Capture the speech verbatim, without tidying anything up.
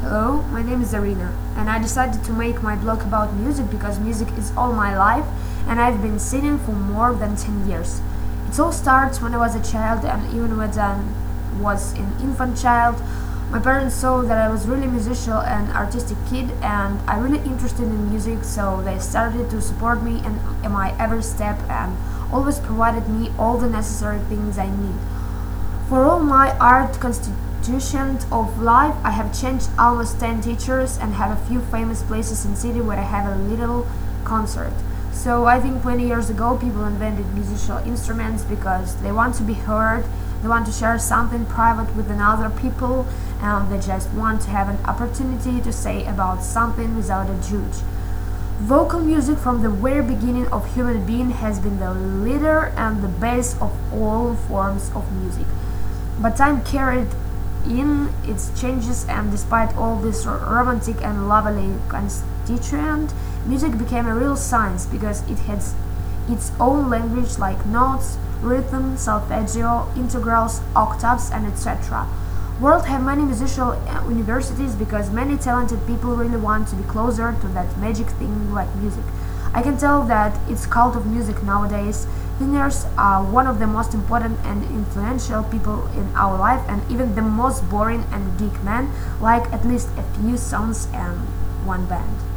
Hello, my name is Arina, and I decided to make my blog about music because music is all my life and I've been singing for more than ten years. It all starts when I was a child, and even when I was an infant child, my parents saw that I was really musical and artistic kid and I really interested in music, so they started to support me in, in my every step and always provided me all the necessary things I need. For all my art constitution of life, I have changed almost ten teachers and have a few famous places in city where I have a little concert. So I think twenty years ago people invented musical instruments because they want to be heard, they want to share something private with another people, and they just want to have an opportunity to say about something without a judge. Vocal music from the very beginning of human being has been the leader and the base of all forms of music. But time carried in its changes, and despite all this romantic and lovely constituent, music became a real science because it has its own language like notes, rhythm, solfeggio, integrals, octaves, and et cetera. World have many musical universities because many talented people really want to be closer to that magic thing like music. I can tell that it's cult of music nowadays. Singers are one of the most important and influential people in our life, and even the most boring and geek men like at least a few songs and one band.